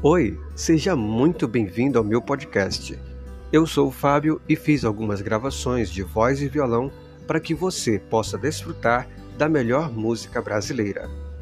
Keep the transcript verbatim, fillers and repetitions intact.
Oi, seja muito bem-vindo ao meu podcast. Eu sou o Fábio e fiz algumas gravações de voz e violão para que você possa desfrutar da melhor música brasileira.